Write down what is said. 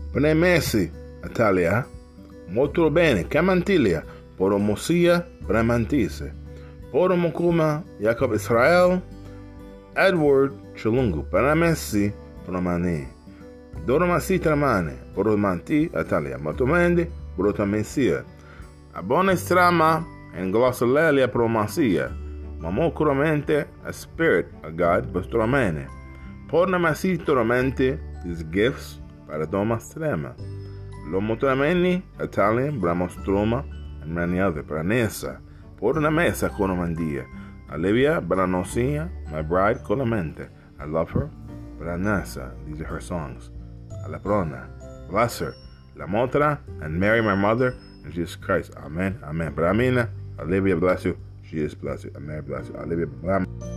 Premessi, Italia. Molto bene, Camantilia. Poromosia, Bramantise. Poromokuma, Jacob Israel. Edward Chilungu. Paramessi, Promani. Doromasi Tramane. Poromanti, Italia. Motomendi, Brotamensia. Abone Strama, and Glossolalia Promasia. Mamocuramente, a spirit, a God, Bostramene. Pornamasi Toramente, these gifts, Paradoma Strema. Lomotrameni, Italian, Bramostroma, and many other. Pranesa. Pornamesa Conomandia. Olivia Branosia, my bride Colamente. I love her. Branasa, these are her songs. Alaprona, bless her. La Motra, and Mary, my mother, and Jesus Christ. Amen. Amen. Bramina, Olivia bless you. Jesus bless you. Amen. Bless you. Olivia bless you.